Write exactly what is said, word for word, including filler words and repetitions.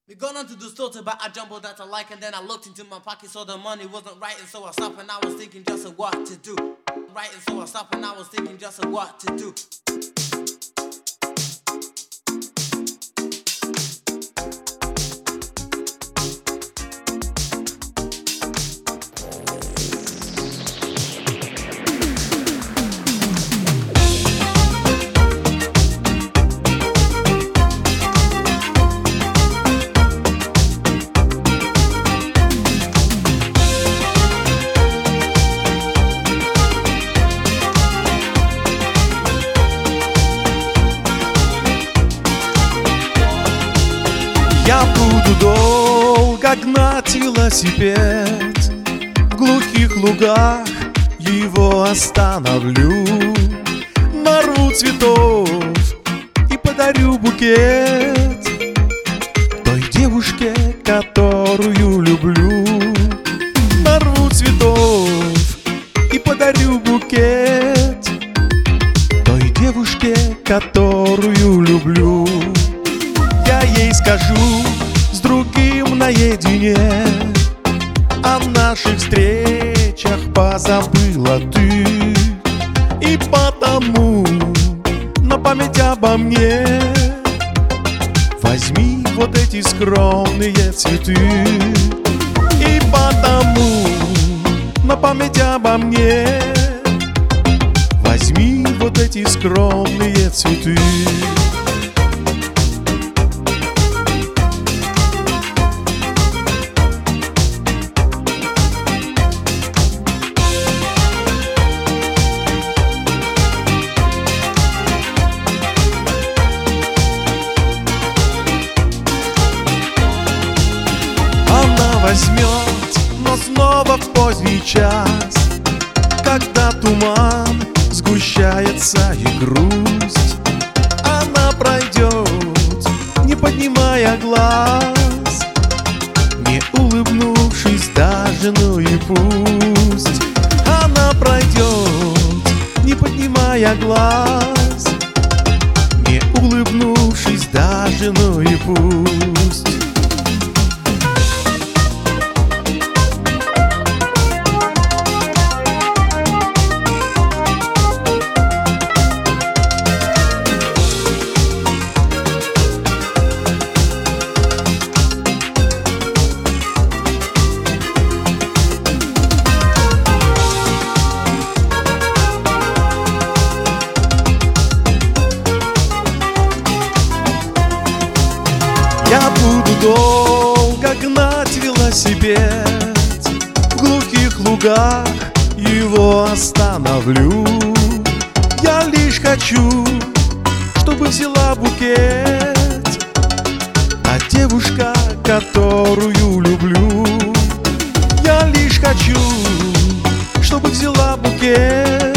We gone on to the store to buy a jumbo that I like, and then I looked into my pocket, so the money wasn't right, and so I stopped and I was thinking just of what to do. Right, and so I stopped and I was thinking just of what to do. Я буду долго гнать велосипед, в глухих лугах его остановлю, нарву цветов и подарю букет той девушке, которую люблю. Нарву цветов и подарю букет той девушке, которую люблю. Я ей скажу с другим наедине, о наших встречах позабыла ты, и потому на память обо мне возьми вот эти скромные цветы. И потому на память обо мне возьми вот эти скромные цветы. Возьмет, но снова в поздний час, когда туман сгущается и грусть, она пройдет, не поднимая глаз, не улыбнувшись даже, ну и пусть. Она пройдет, не поднимая глаз, не улыбнувшись даже, ну и пусть. Я буду долго гнать велосипед, в глухих лугах его остановлю. Я лишь хочу, чтобы взяла букет та девушка, которую люблю. Я лишь хочу, чтобы взяла букет